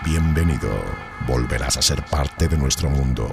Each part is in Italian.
Bienvenido. Volverás a ser parte de nuestro mundo.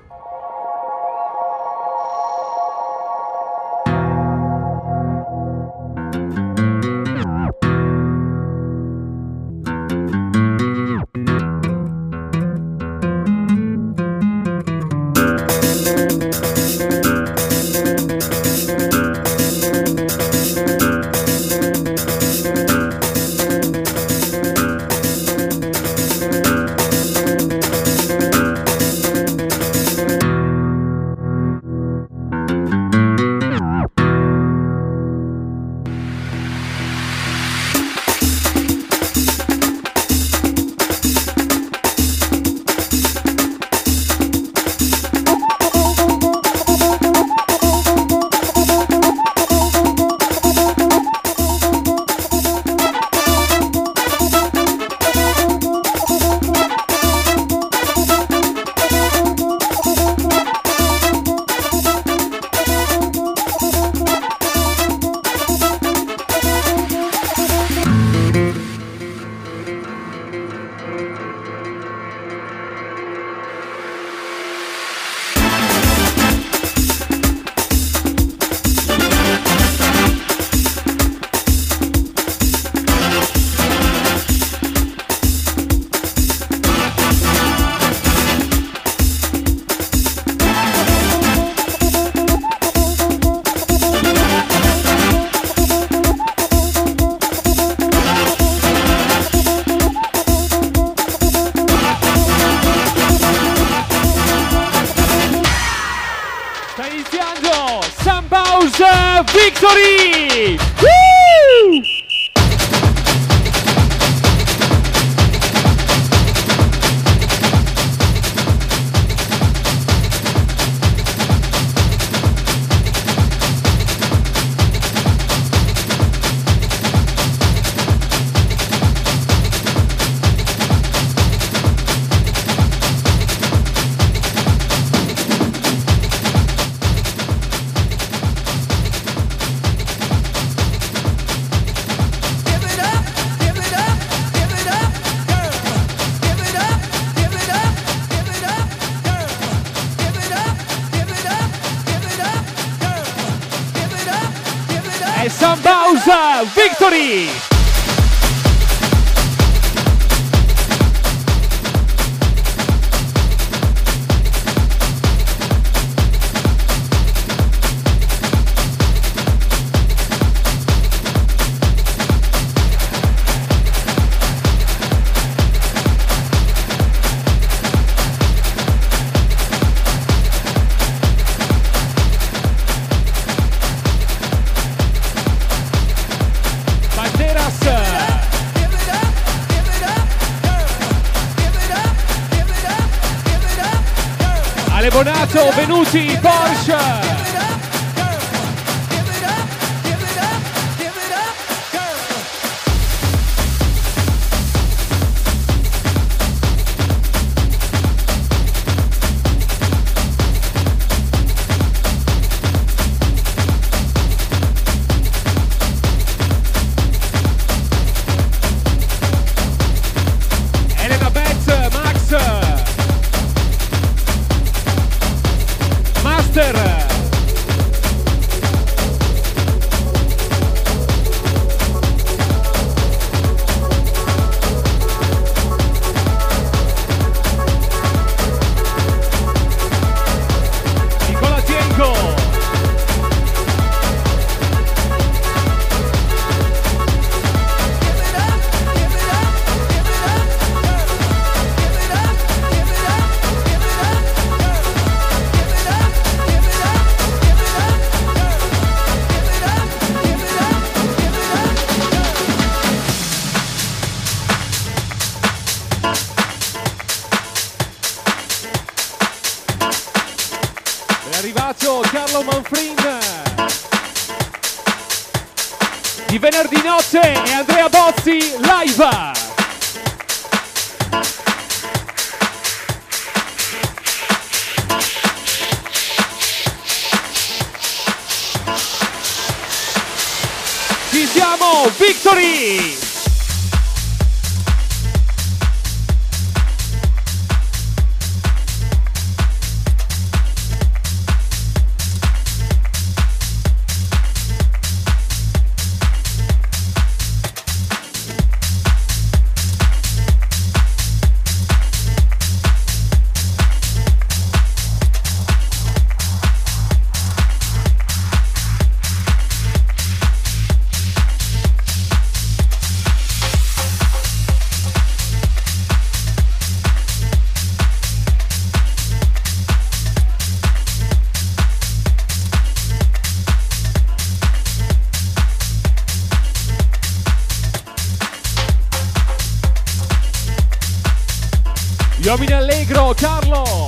Victory! Woo! Sambausa Victory! Bonato, Venuti, Porsche! Carlo Manfrin di venerdì notte e Andrea Bozzi live. Ci siamo, Victory! Uomini Allegro, Carlo.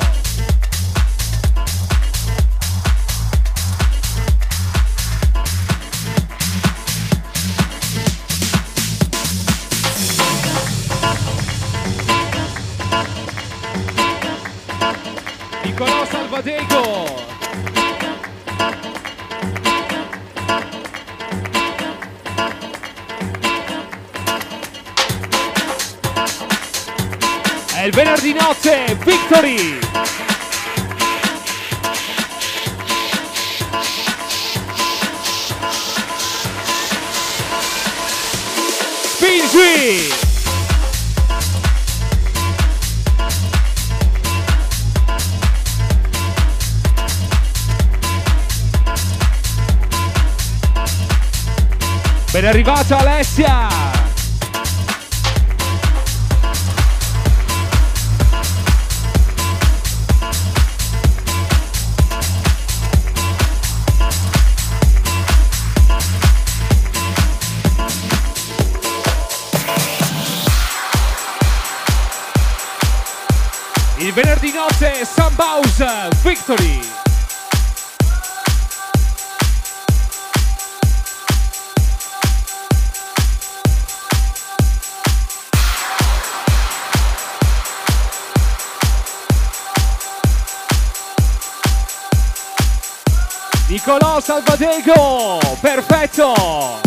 Nicolò Salvadego. È il venerdì notte, Victory! Spingi! Ben arrivata Alessia! Il venerdì notte Sunhouse Victory. Nicolò Salvadego, perfetto.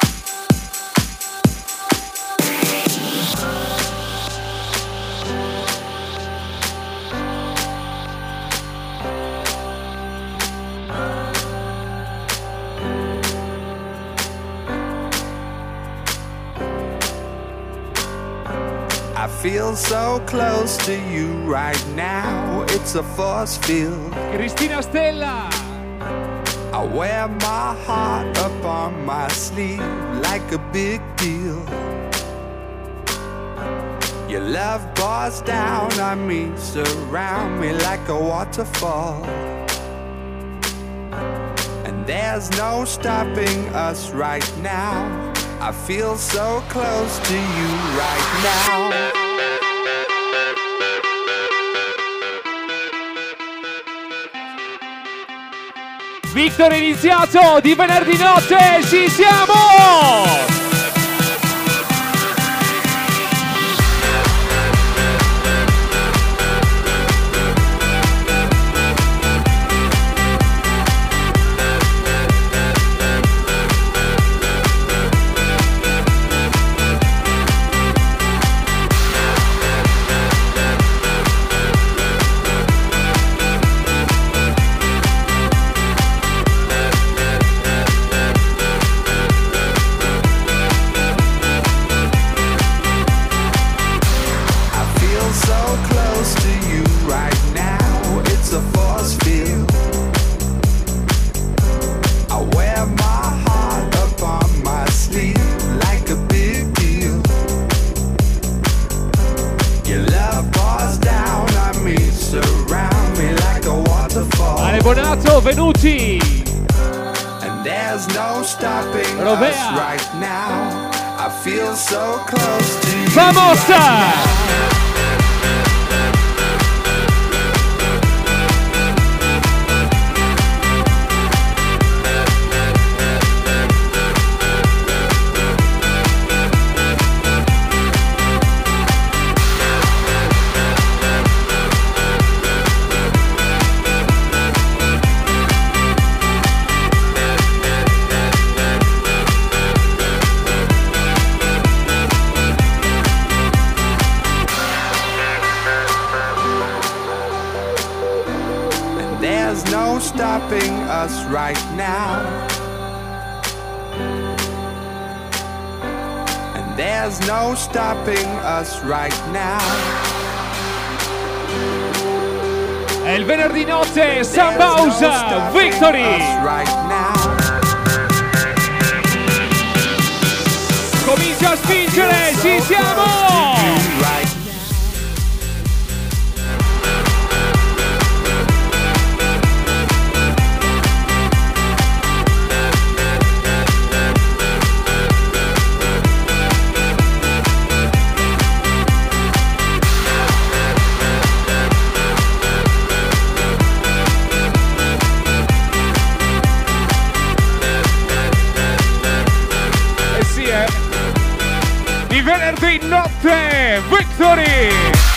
I feel so close to you right now, it's a force field. Cristina Stella. I wear my heart up on my sleeve like a big deal. Your love pours down on me, surround me like a waterfall. And there's no stopping us right now. I feel so close to you right now. Victory iniziato di venerdì notte, ci siamo! Bonato, Venuti. And there's no stopping Rovea. us right now. I feel so close to you. Vamos! Right stopping us right now. And there's no stopping us right now. È il venerdì notte, Sunhouse Victory. Right now. Comincia a spingere, ci siamo! Victory!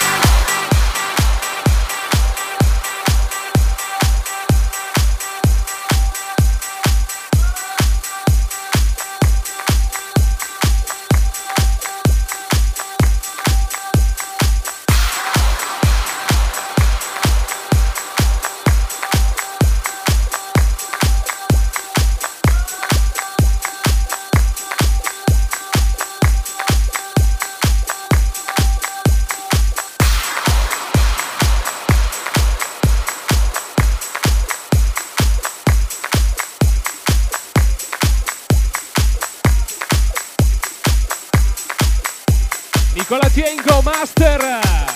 Nicola Tiengo, Master!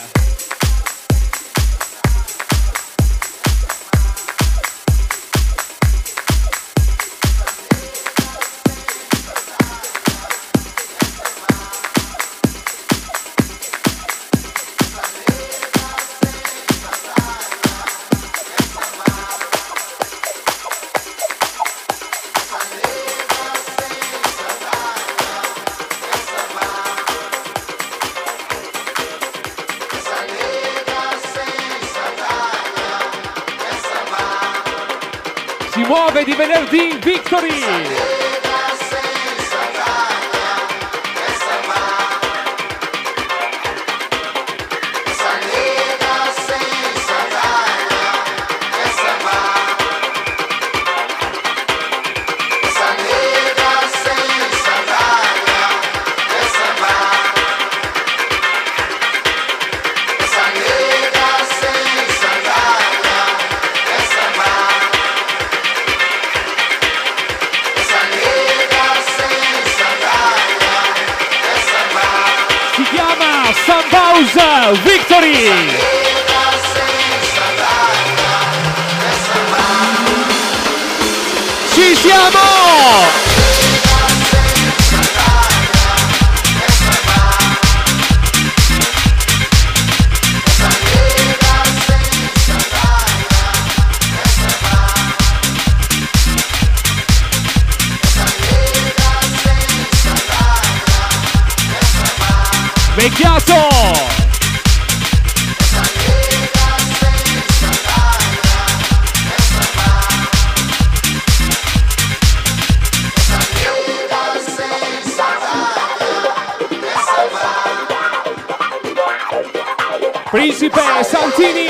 Si muove di venerdì Victory! Sambausa Victory! Ci siamo! Vecchiato! Principe Santini!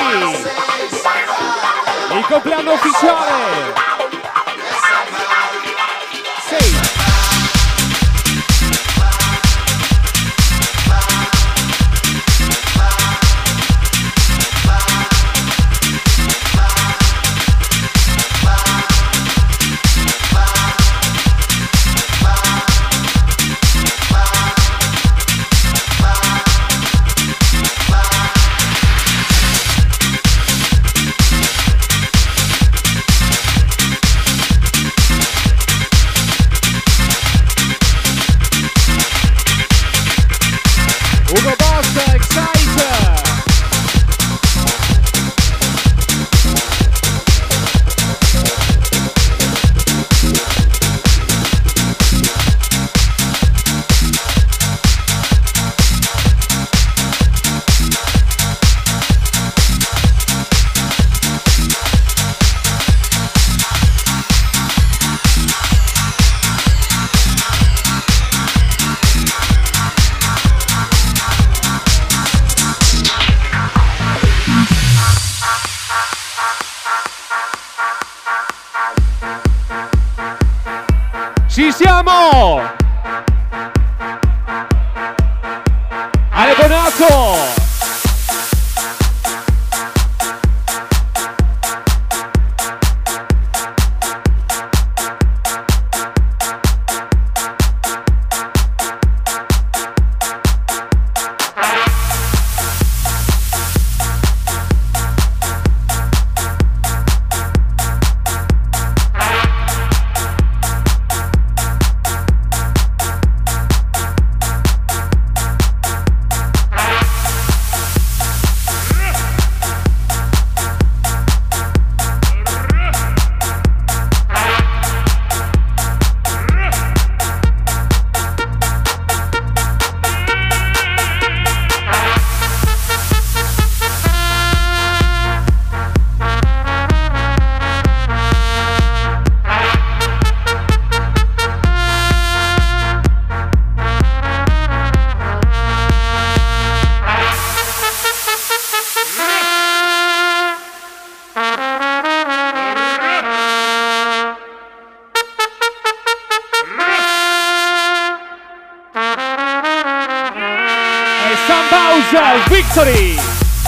Il compleanno ufficiale! Ci siamo! Ale Bonato! Victory!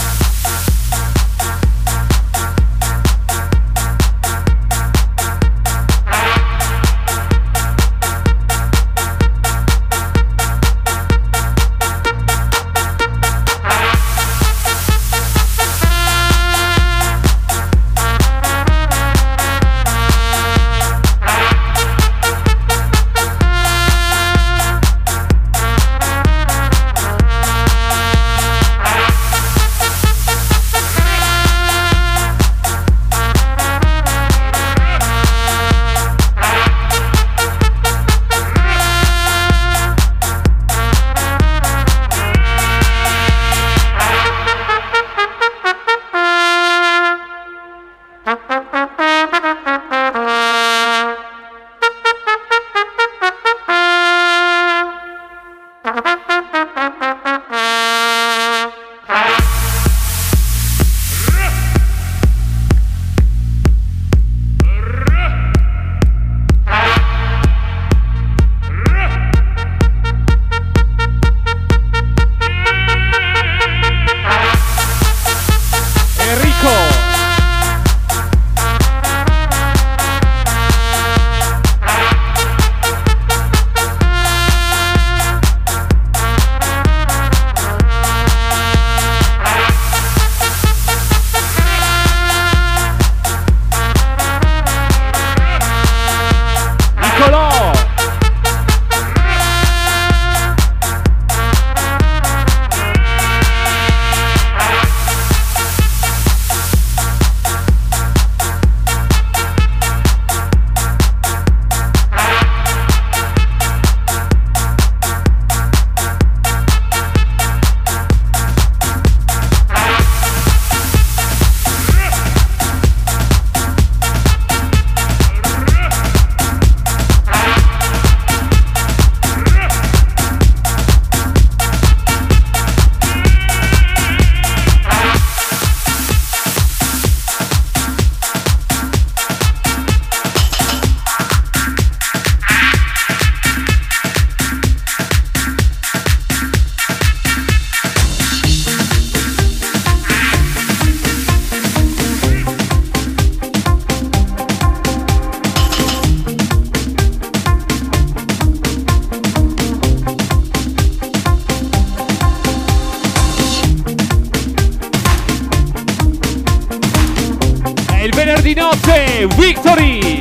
Venerdì notte, Victory!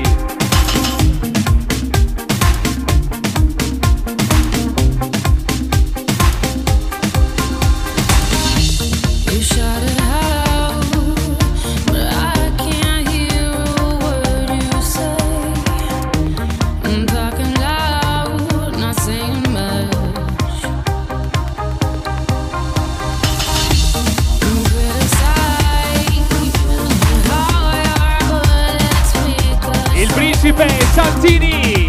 Santini!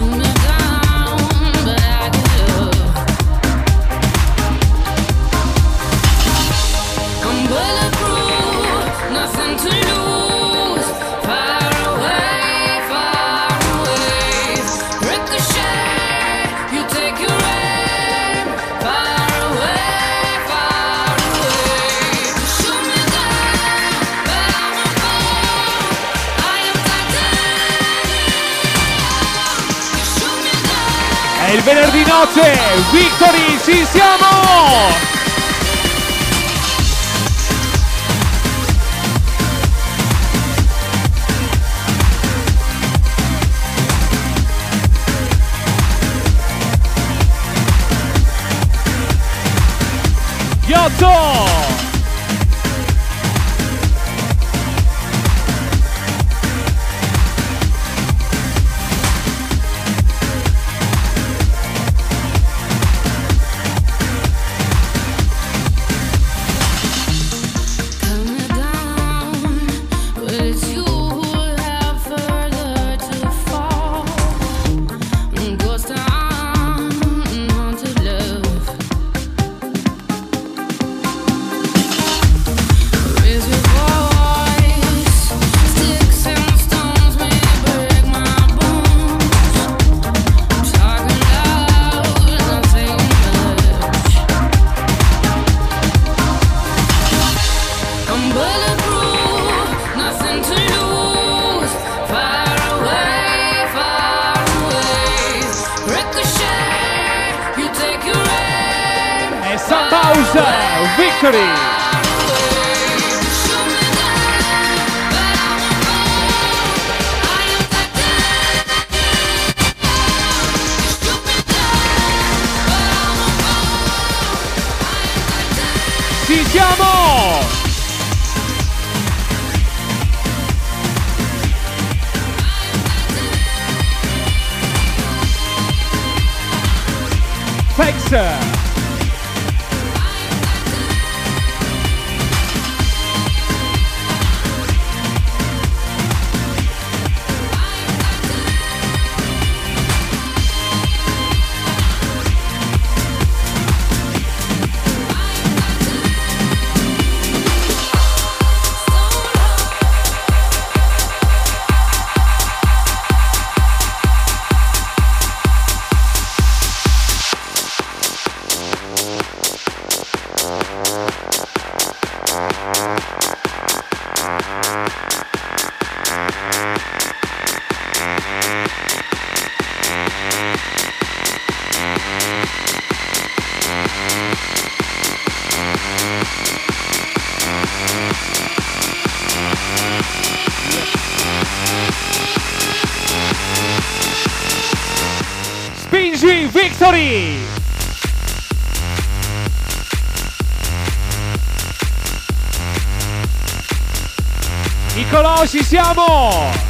Il venerdì notte, Victory, ci siamo! Giotto! House, Victory. Ci siamo! Fex. Spingi, Victory! Nicolò, ci siamo!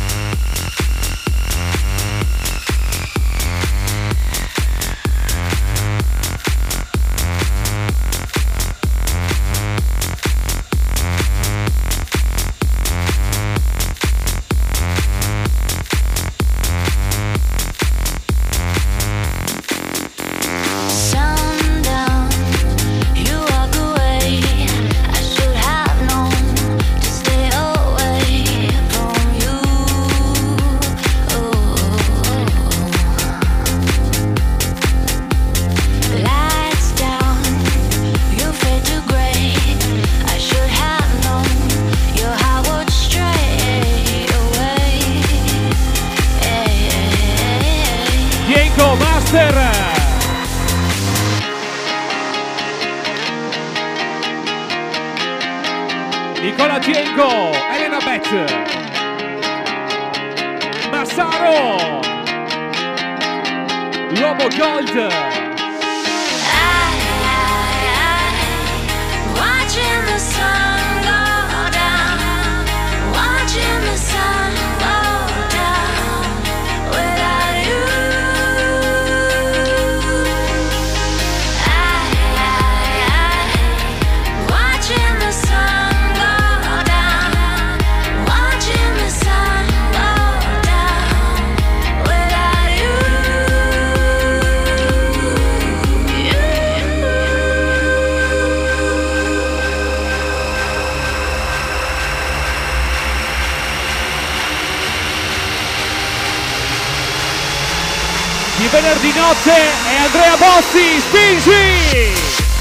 Nicola Tienko, Elena Bet, Massaro, l'uomo Gold. Watching the sun go down, watching the sun go down without you. Watching the sun go down, watching the sun go down without you. Di venerdì notte è Andrea Bossi, spingi!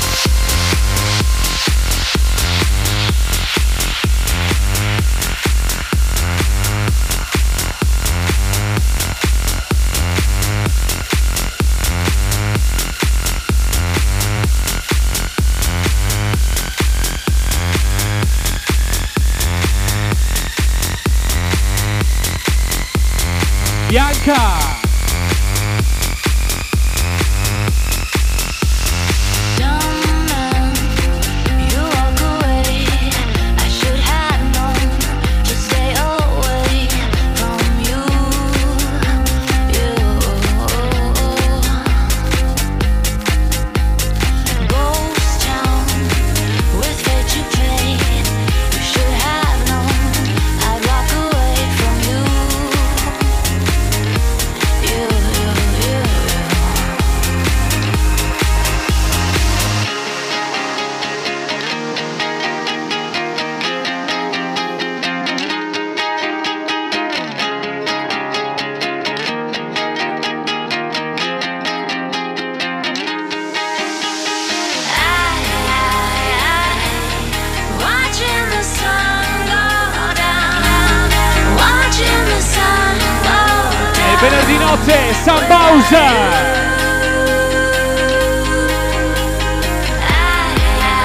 Bianca! Venerdì notte, Sam Bowser!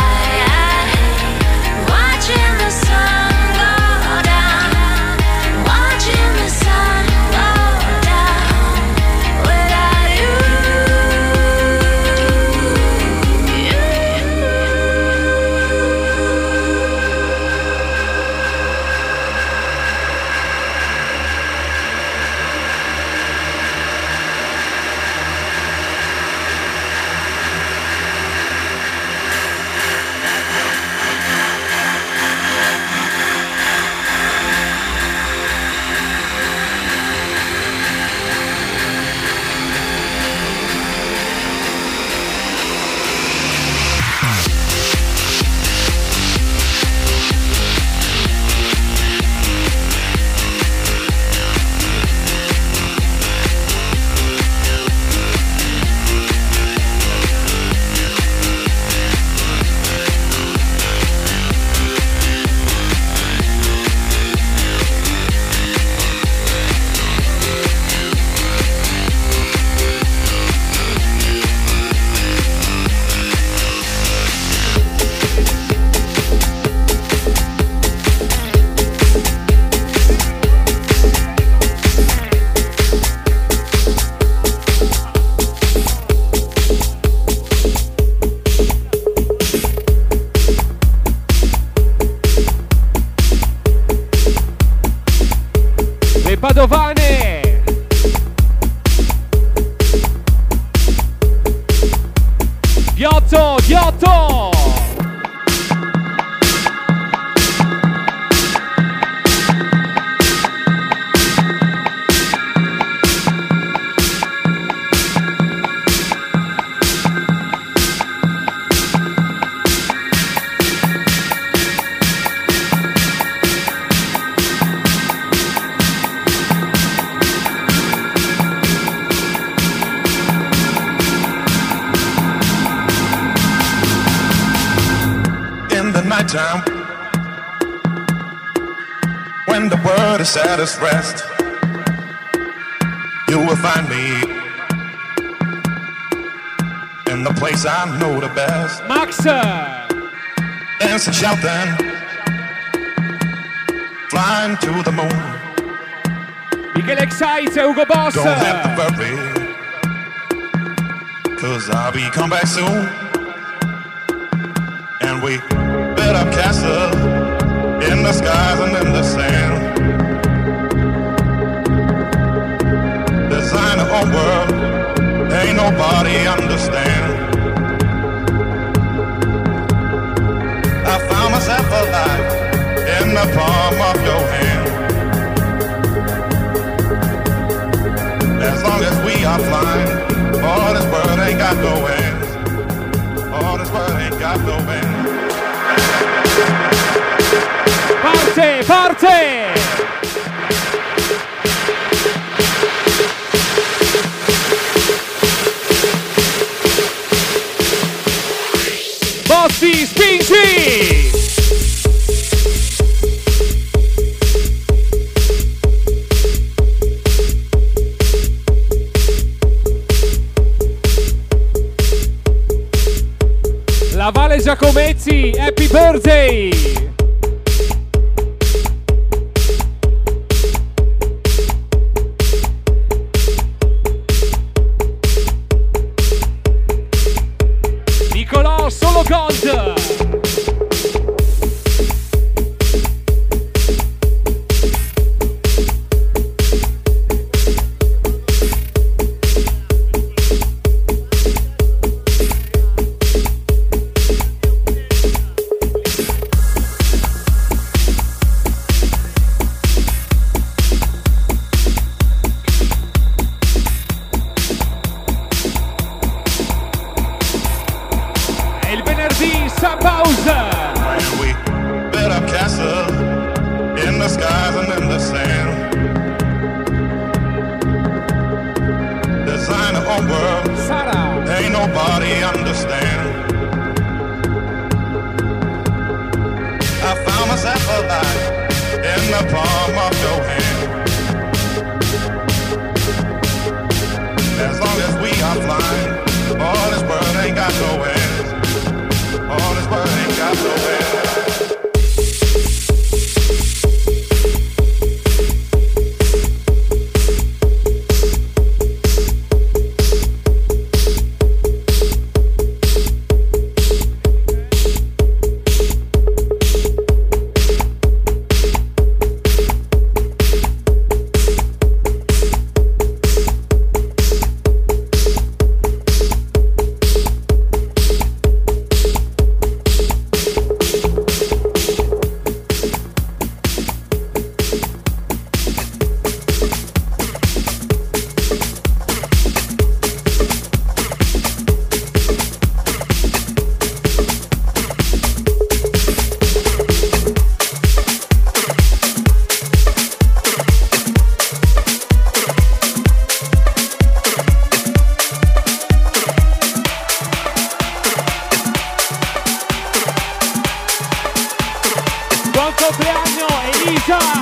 time when the world is at its rest, you will find me in the place I know the best. Max, dancing, shouting, flying to the moon. Michele Excites e Ugo Boss. Don't have to worry, 'cause I'll be come back soon. And we built up castles in the skies and in the sand. Design our own world, ain't nobody understand. I found myself alive in the palm of your hand. As long as we are flying, all this world ain't got no end. All this world ain't got no end. Parte, parte! Bossi, spingi! La Vale Giacomezzi, happy birthday! Nicolò, solo gold! And we built up castles in the skies and in the sand. Design our own world, Sara, ain't nobody understand. I found myself alive in the palm of your hand. As long as we are flying, all this world ain't got no end. All this world ain't got no end. compleanno Elisa!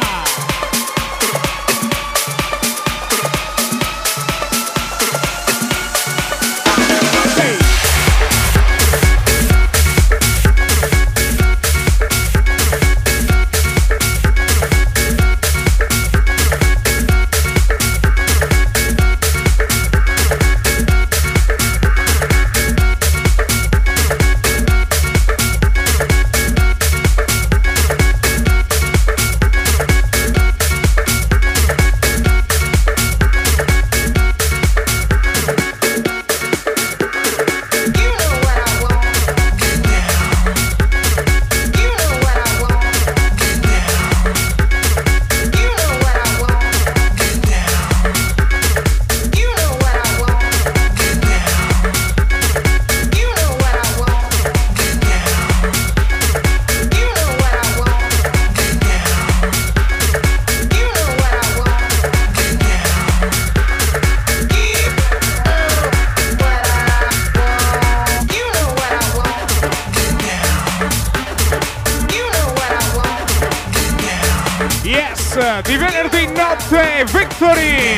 di venerdì notte, Victory!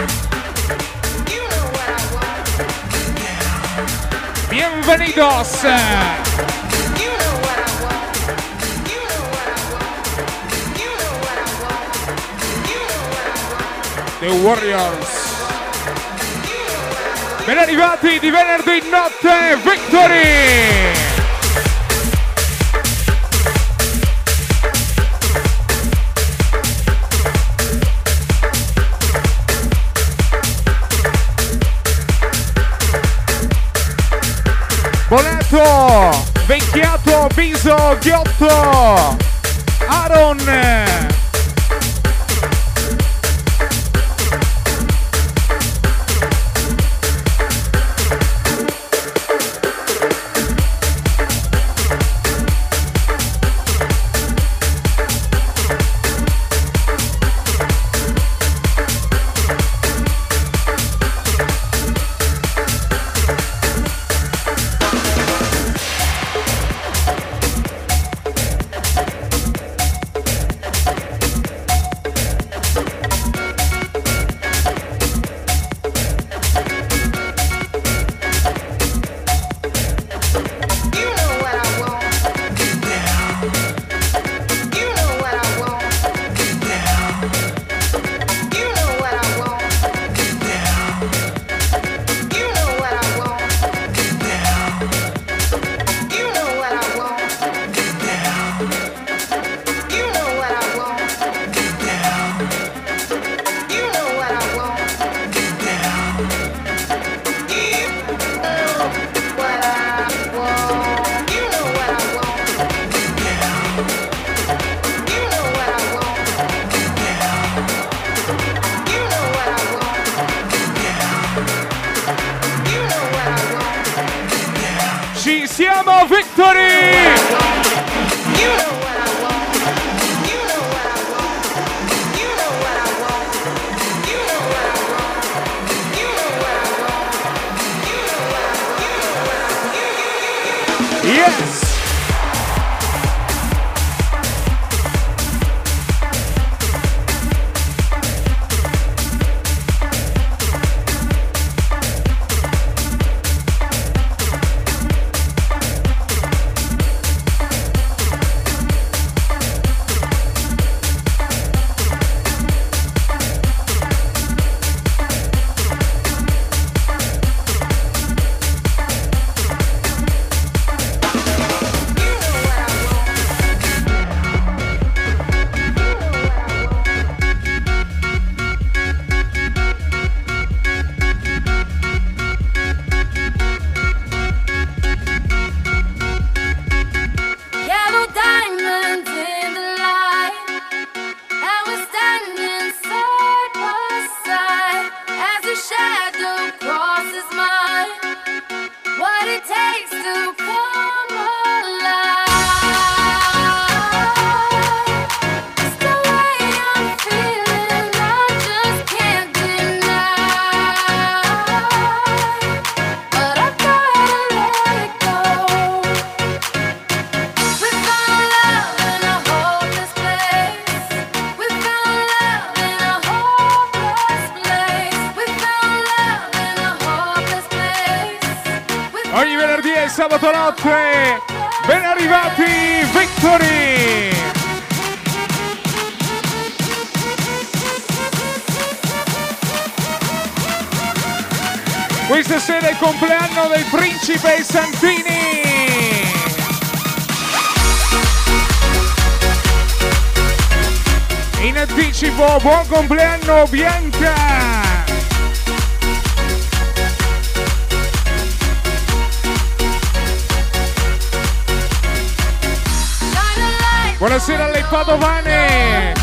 Bienvenidos! The Warriors! Ben arrivati di venerdì notte, Victory! Boneto, Vecchiato, Biso, Ghiotto, Aaron. Sabato notte, ben arrivati Victory! Questa sera è il compleanno del principe Santini! In anticipo, buon compleanno Bianca! Buonasera alle padovane!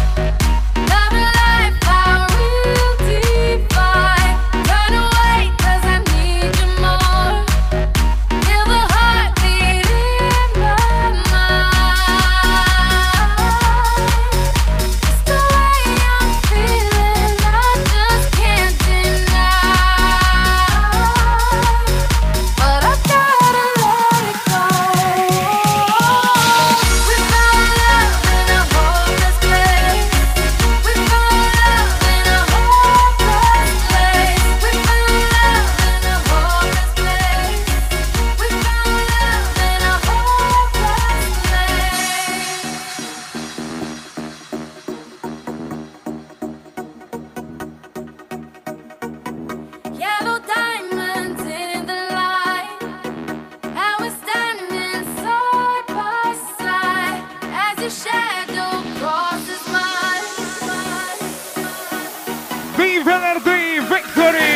We found love in a hopeless place. Vi venerdì Victory!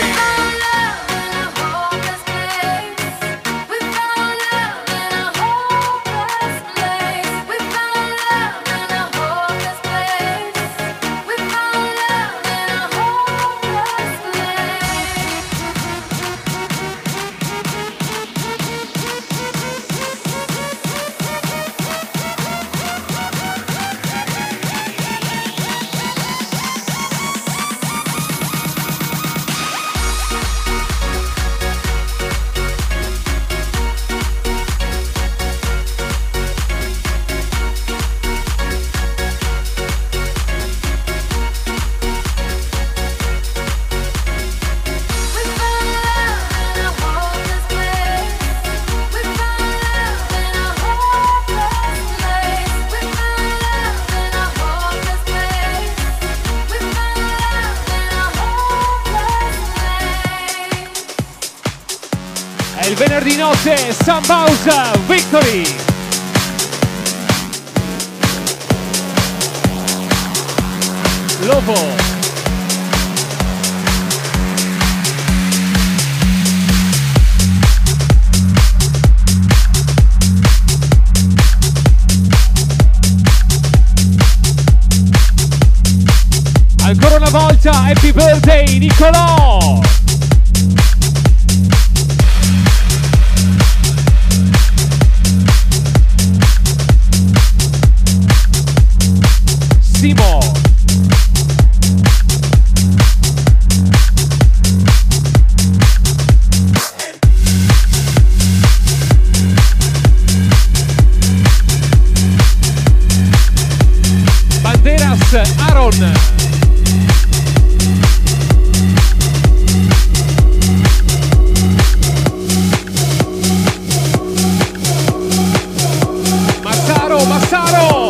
Il venerdì notte Sambausa Victory. Lovo. Ancora una volta Happy Birthday Nicolò. Simo. Banderas Aaron. Massaro.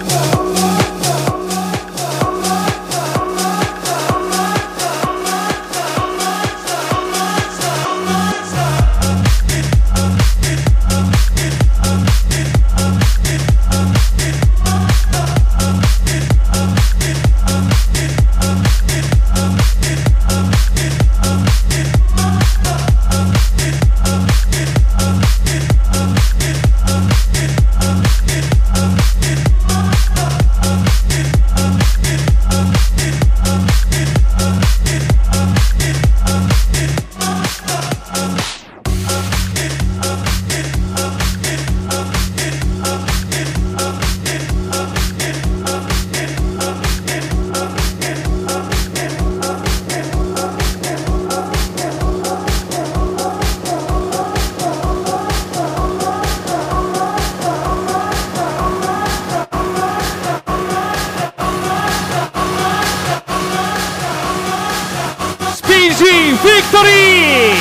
Victory!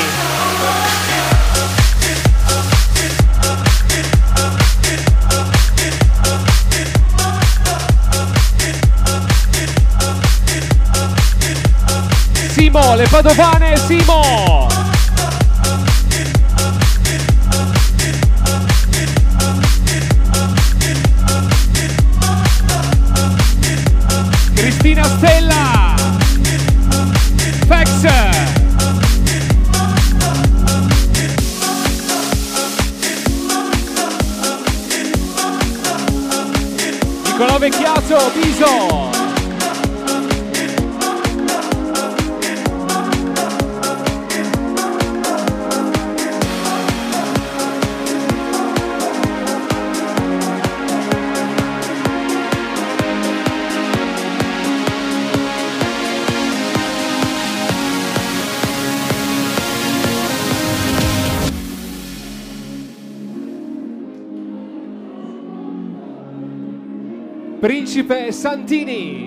Simo, le padovane, Simo! Cristina Stella! Fex! Nicolò Vecchiato, Biso. Principe Santini.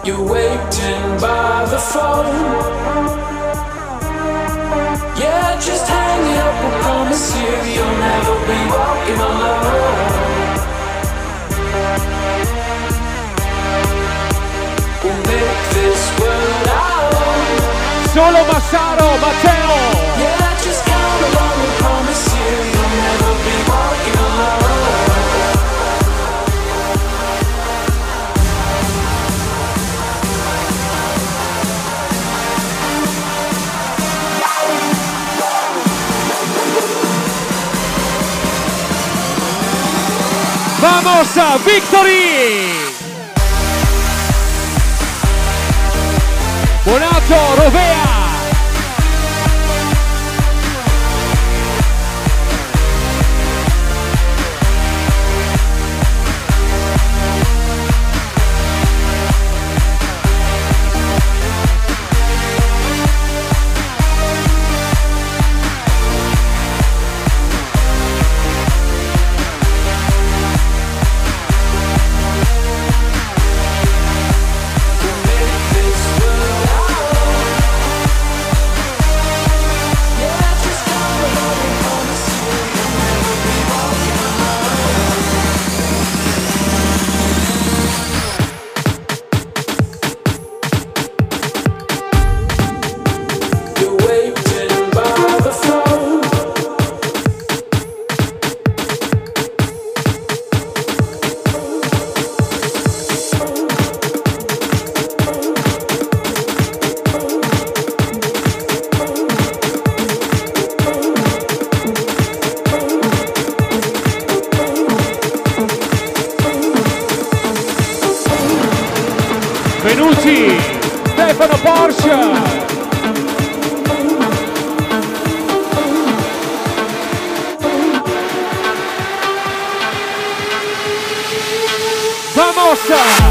You're waiting by the phone. Yeah, just hang up and promise you'll never be walking alone. We'll make this world our own. Solo Massaro, Matteo. Yeah, just come along and promise you'll never be walking alone. Vamos, Victory! Buonato, Rovea! Venuti, Stefano Porsche. Vamos!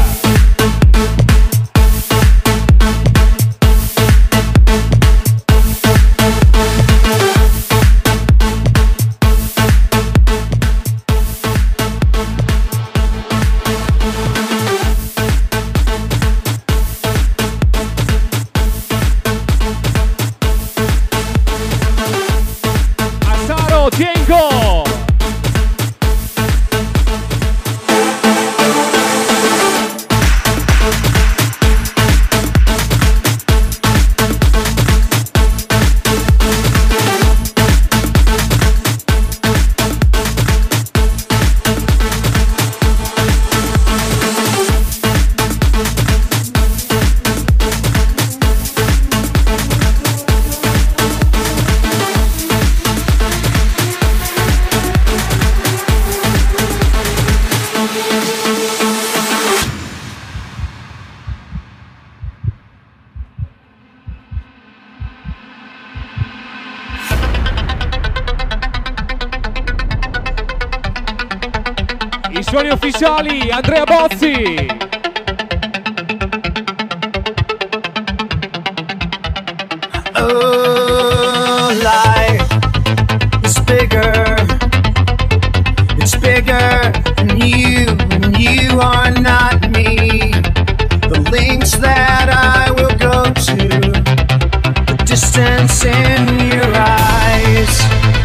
Tiengo! I suoni ufficiali, Andrea Bozzi. Oh, life is bigger. It's bigger than you, and you are not me. The links that I will go to, the distance in your eyes.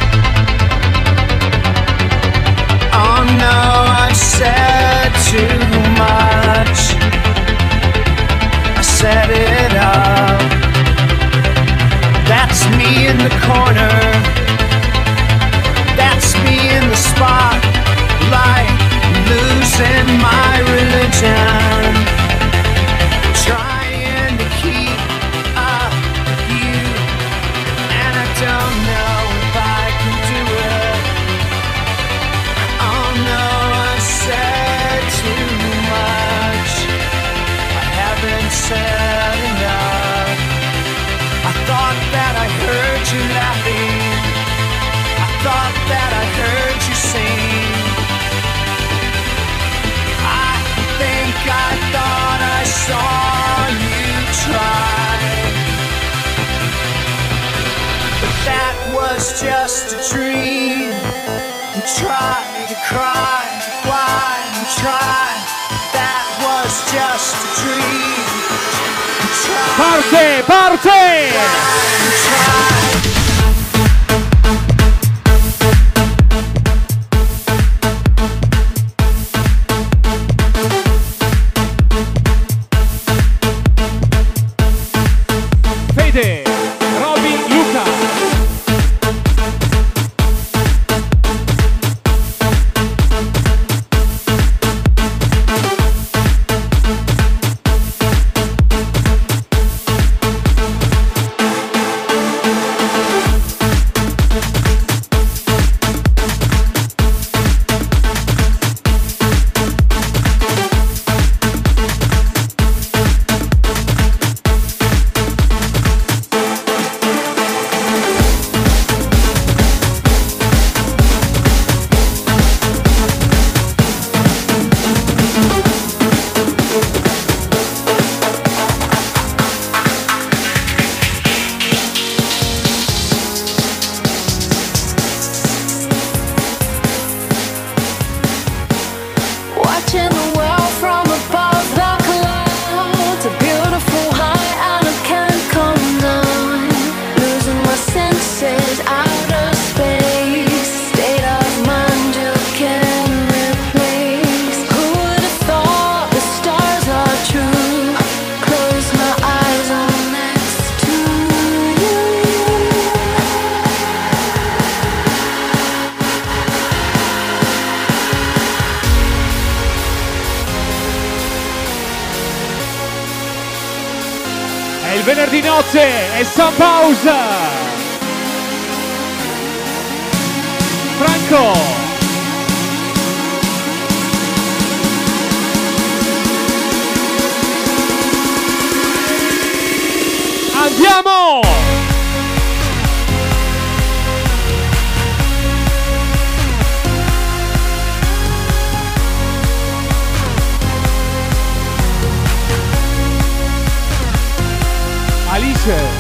Oh no, I said too much. I set it up. That's me in the corner. That's me in the spotlight, losing my religion, trying to keep up with you, and I don't know if I can do it. Oh no, I said too much. I haven't said enough. I thought that I heard you laughing. I thought that I heard you sing. I think I thought I saw you try. But that was just a dream. And try to cry, fly and try. That was just a dream. Parte, parte! Fede, Roby, Luca. Watching the world from above the clouds, a beautiful high and I can't come down. Losing my senses, outer space, state of mind you can replace. Who would have thought the stars are true? Close my eyes, I'm next to you. È il venerdì notte e Sun Pause. Franco. Andiamo! Alice.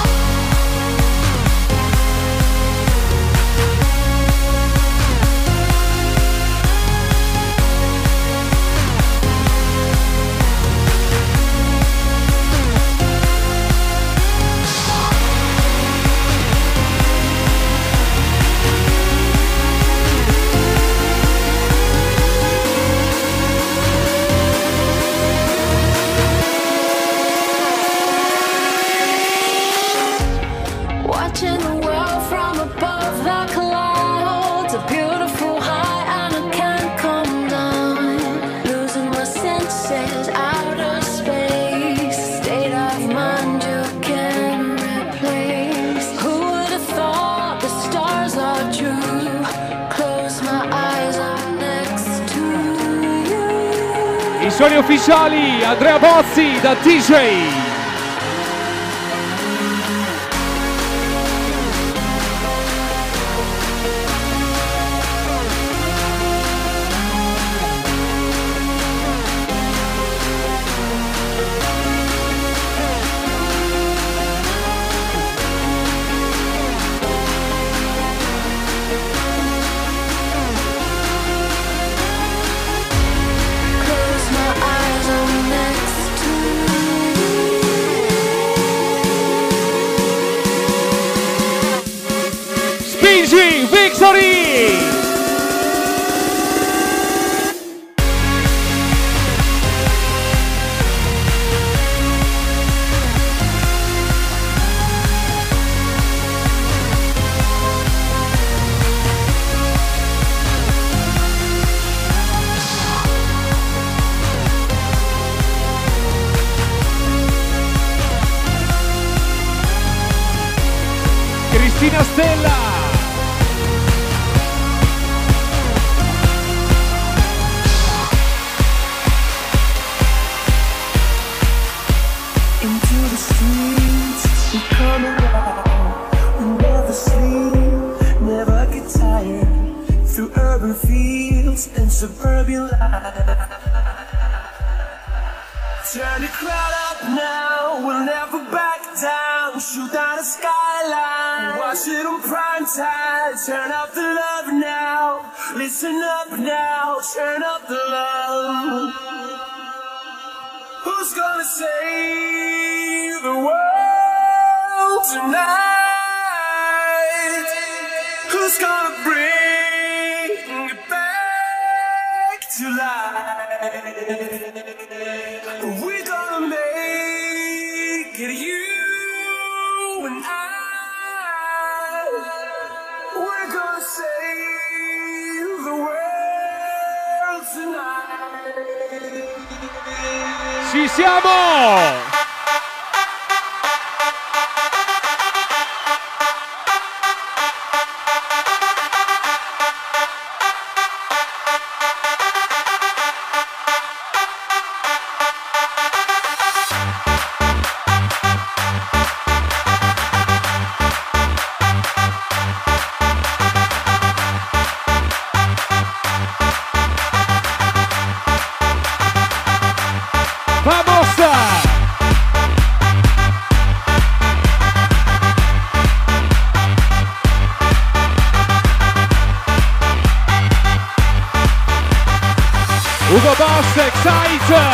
Watching the world from above the clouds, a beautiful high and I can't come down. Losing my senses, outer space, state of mind you can replace. Who would have thought the stars are true? Close my eyes, I'm next to you. I suoni ufficiali, Andrea Bozzi da DJ. Close my eyes, I'm next to you. Spingi, Victory! Cristina Stella. Into the streets, we come around. We never sleep, never get tired. Through urban fields and suburban life. Turn the crowd up now, we'll never back down. Shoot down the skyline, watch it on prime time. Turn up the love now, listen up now. Turn up the love. Who's gonna say tonight. Who's gonna bring it back to life? We're gonna make it, you and I. We're gonna save the world tonight. Ci siamo! Ugo Boss, Excite!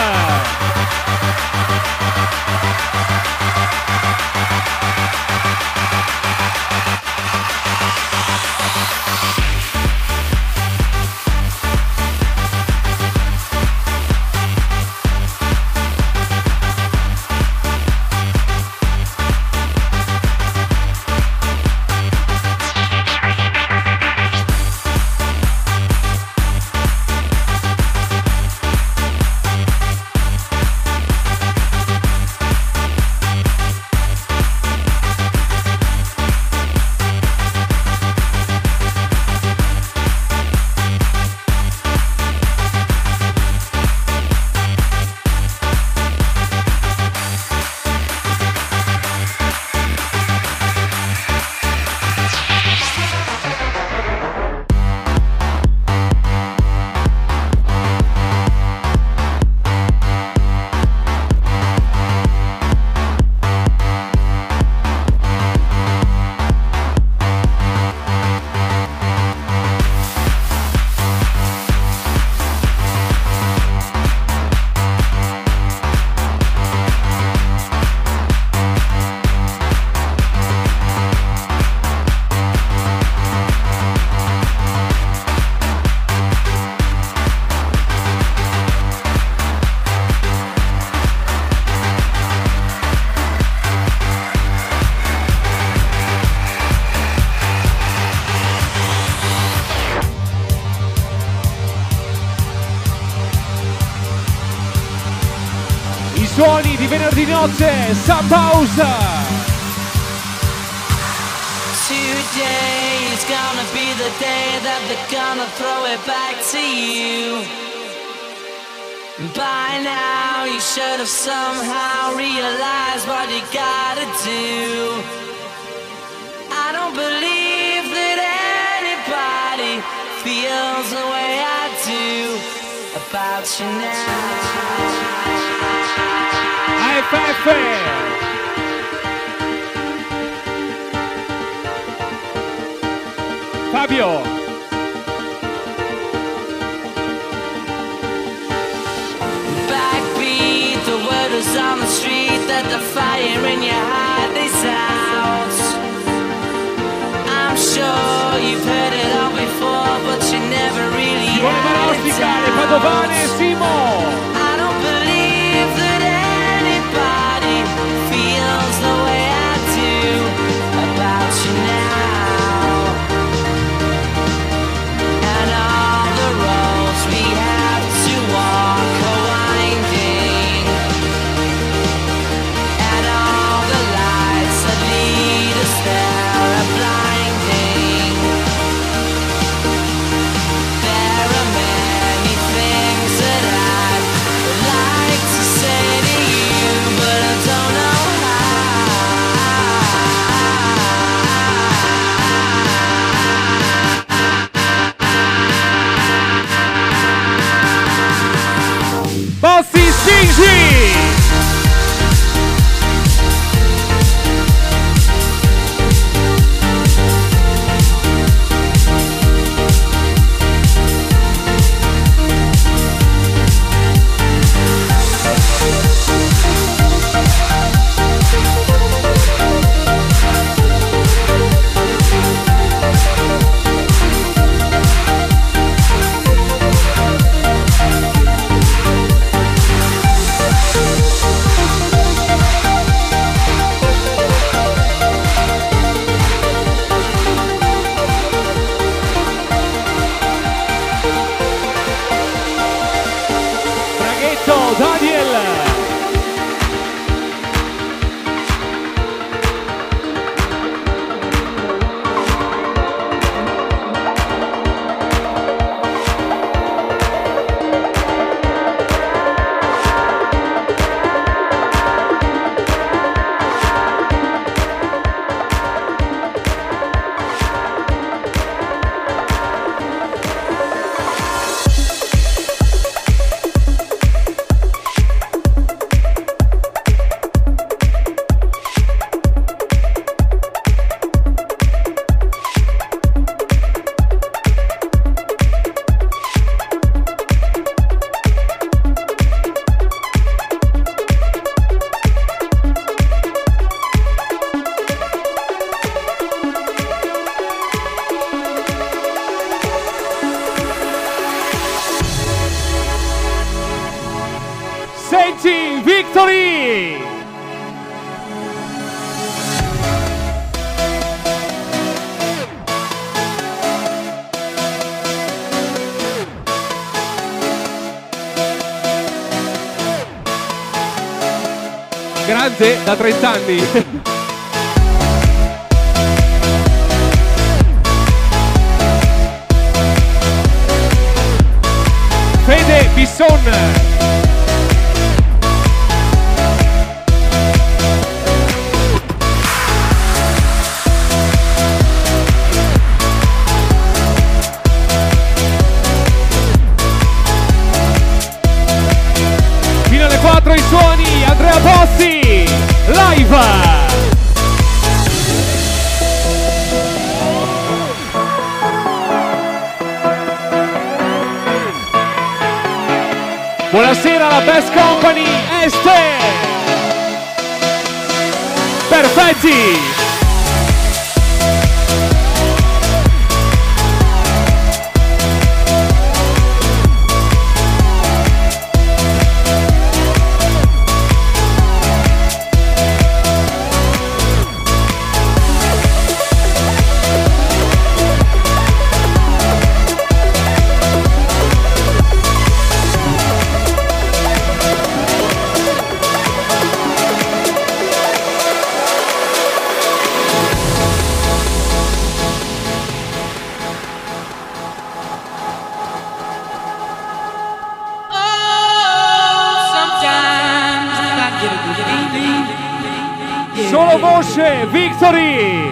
Suoni di venerdì notte, Sub House. Today is gonna be the day that they're gonna throw it back to you. By now you should have somehow realized what you gotta do. I don't believe that anybody feels the way I do about you now. AFF! Fabio! Backbeat, the word is on the street that the fire in your heart is out. I'm sure you've heard it all before, but you never really Simone Marosticale, Padovane e Simo! I don't believe that anybody feels the way I do about you now. And all the roads we have to walk are winding, and all the lights that lead us there are blinding. There are many things that I would like to say to you, but I don't know Bossy Stingy! Senti Victory! Grande da 30 anni. Fede Bisson. Fino alle 4 i suoni, Andrea Bossi, live! Buonasera alla Best Company Este! Perfetti! Solo voce, Victory!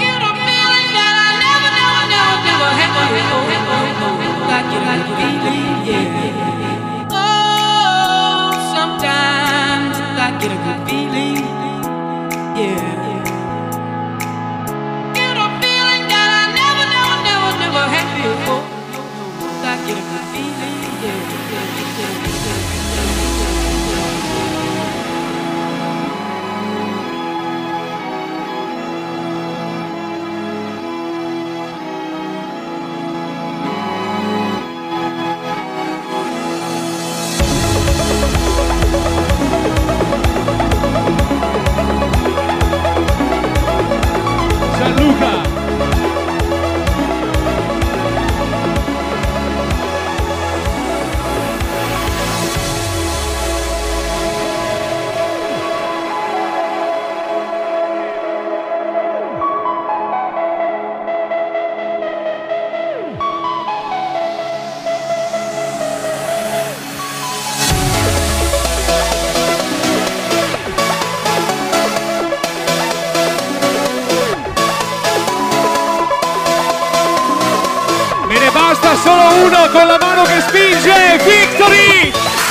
Gianluca! Basta solo uno con la mano che spinge, Victory!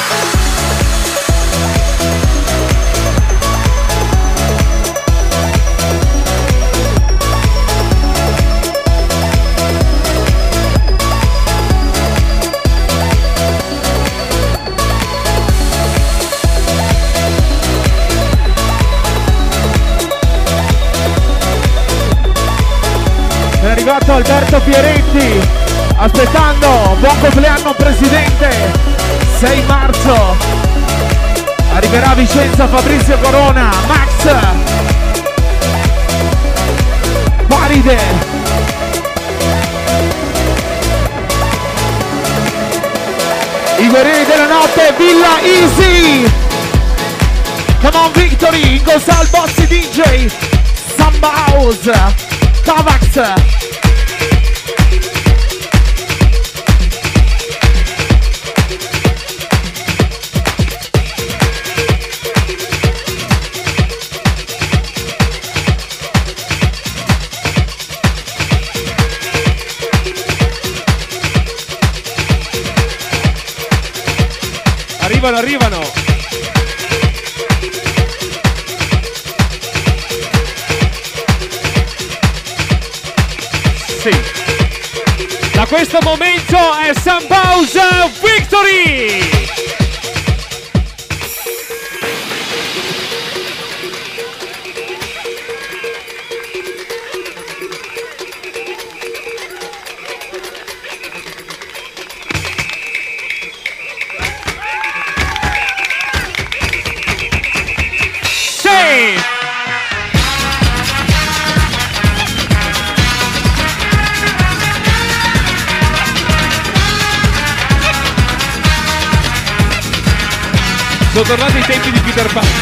È arrivato Alberto Pieretti. Aspettando, buon compleanno presidente, 6 marzo, arriverà a Vicenza Fabrizio Corona, Max, Paride, i guerrieri della notte, Villa Easy, come on Victory, Ingo Sal, Bossi DJ, Samba House, Tavax. Arrivano. Sì. Da questo momento è Sambausa Victory! Sono tornati i tempi di Peter Pan.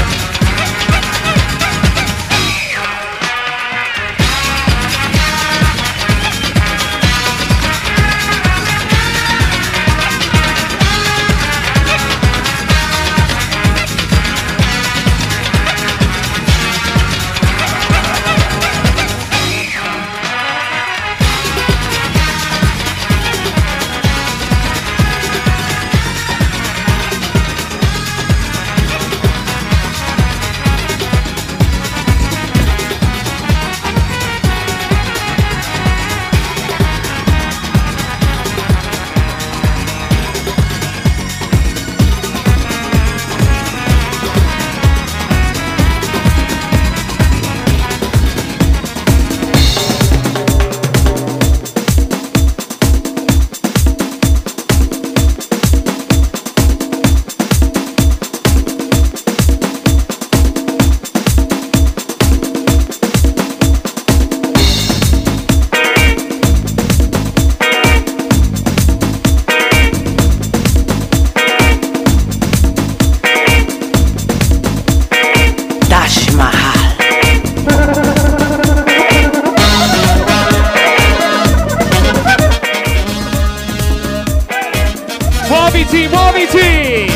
Muoviti, muoviti!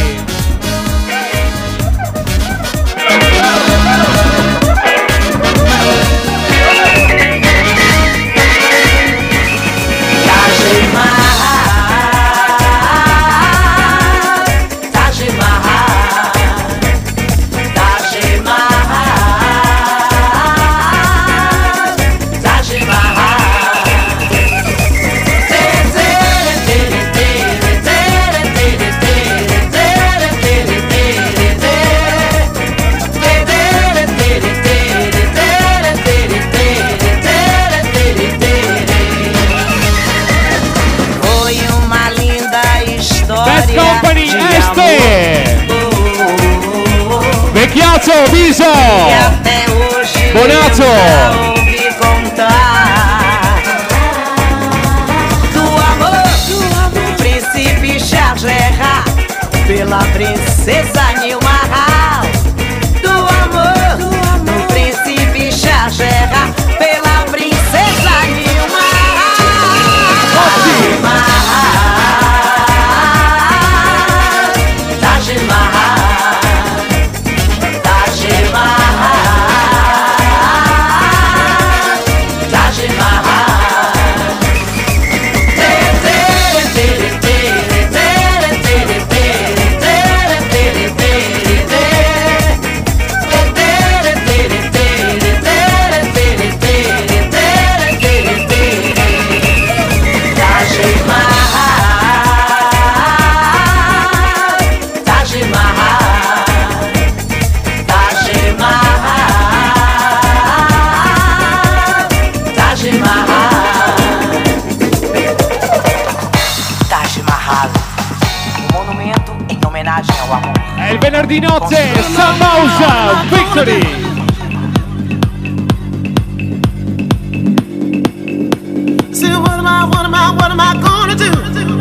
Vecchiazzo, Viso! Bonato! Príncipe Shahjahan, pela princesa Nilmahal. Do amor, do príncipe Shahjahan, pela princesa Nilmahal. Taj Mahal, Taj Mahal, Taj Mahal. È il venerdì notte, Sun House Victory! See, what am I gonna do?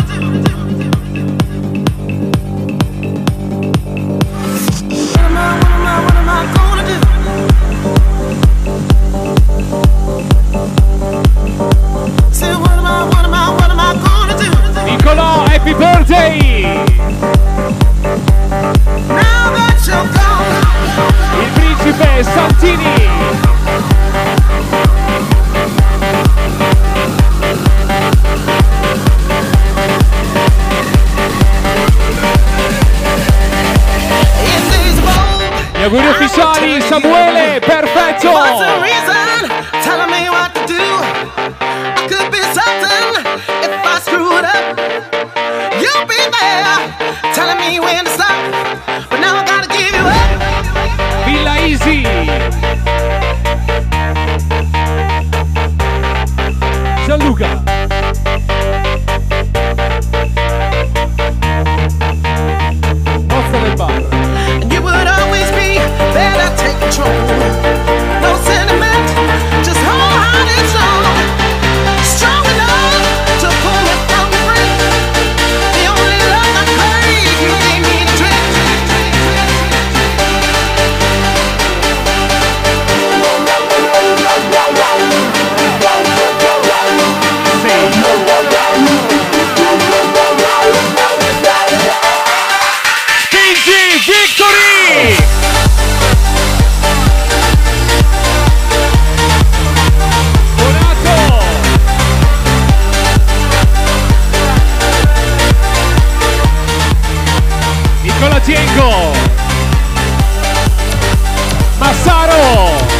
What am I gonna do? See, what am I gonna do? Nicolò, happy birthday! Now that you're gone, Il principe Santini! Gli auguri ufficiali, Samuele, perfetto! what's the reason? Telling me what to do. I could be certain if I screw it up. You'll be there, telling me when to stop. But now I gotta give you up. Villa Easy! Gianluca! Posta del bar! And you would always be there to take control. No sentiment, just wholehearted soul. Strong enough to pull it from the brink. The only love I crave, you gave me to drink. Nicola Tiengo, Massaro,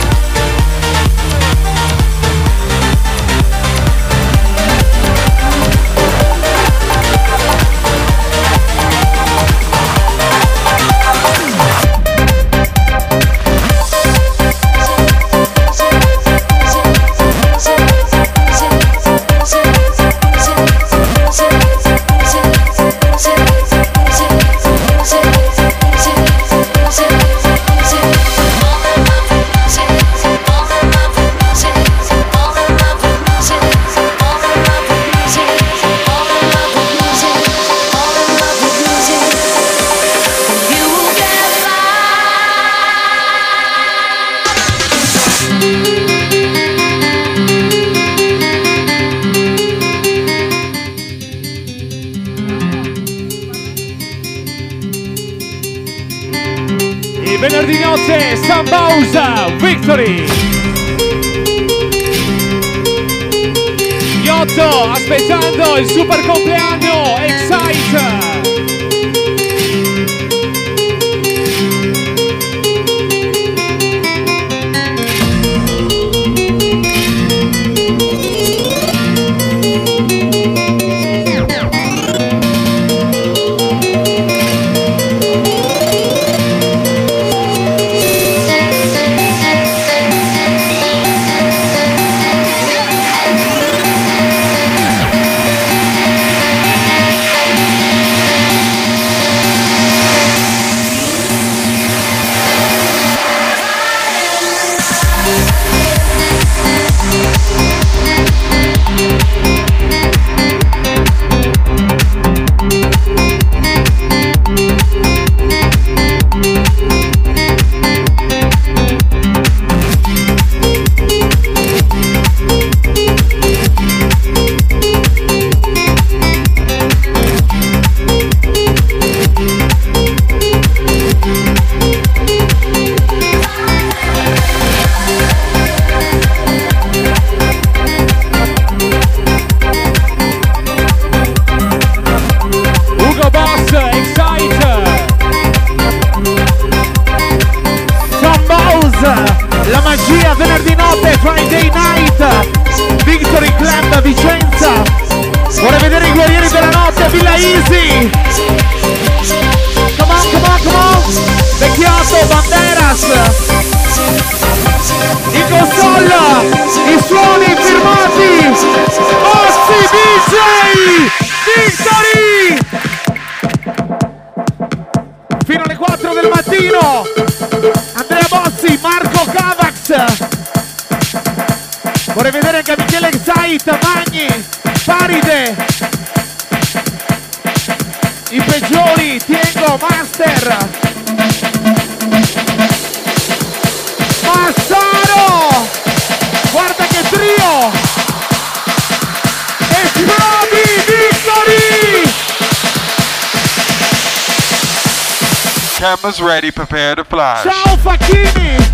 venerdì notte Sambausa Victory. Iotto aspettando il super compleanno Excite. La magia venerdì notte, Friday night, Victory Club Vicenza. Vorrei vedere i guerrieri della notte a Villa Easy. Come on, come on, come on. Vecchiotto, Banderas. In console, i suoni firmati. Ossi DJ, Victory. Fino alle 4 del mattino. Andrea Bossi, Marco Cavax. Vorrei vedere anche Michele Excite, Magni, Faride. I peggiori, Tiengo, Master. Massaro! Guarda che trio! Esplodi Victory! Cameras ready, prepare to fly. Ciao Facchini!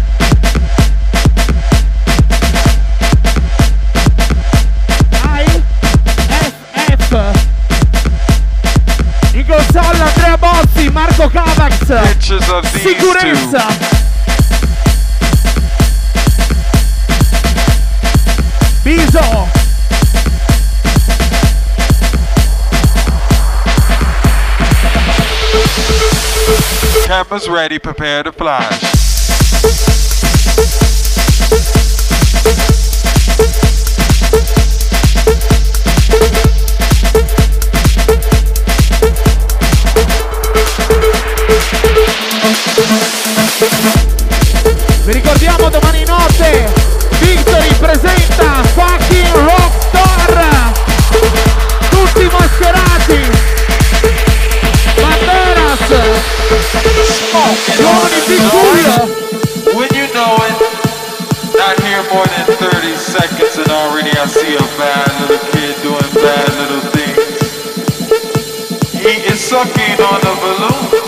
In console Andrea Bozzi, Marco Cavax. Sicurezza! Biso! Cameras ready, prepare to fly. Vi ricordiamo domani notte Victory presenta Fucking Rockstar. Tutti mascherati. Banderas. Giovani piccoli. When you know it, not here more than 30 seconds and already I see a bad little kid doing bad little things. He is sucking on the balloon.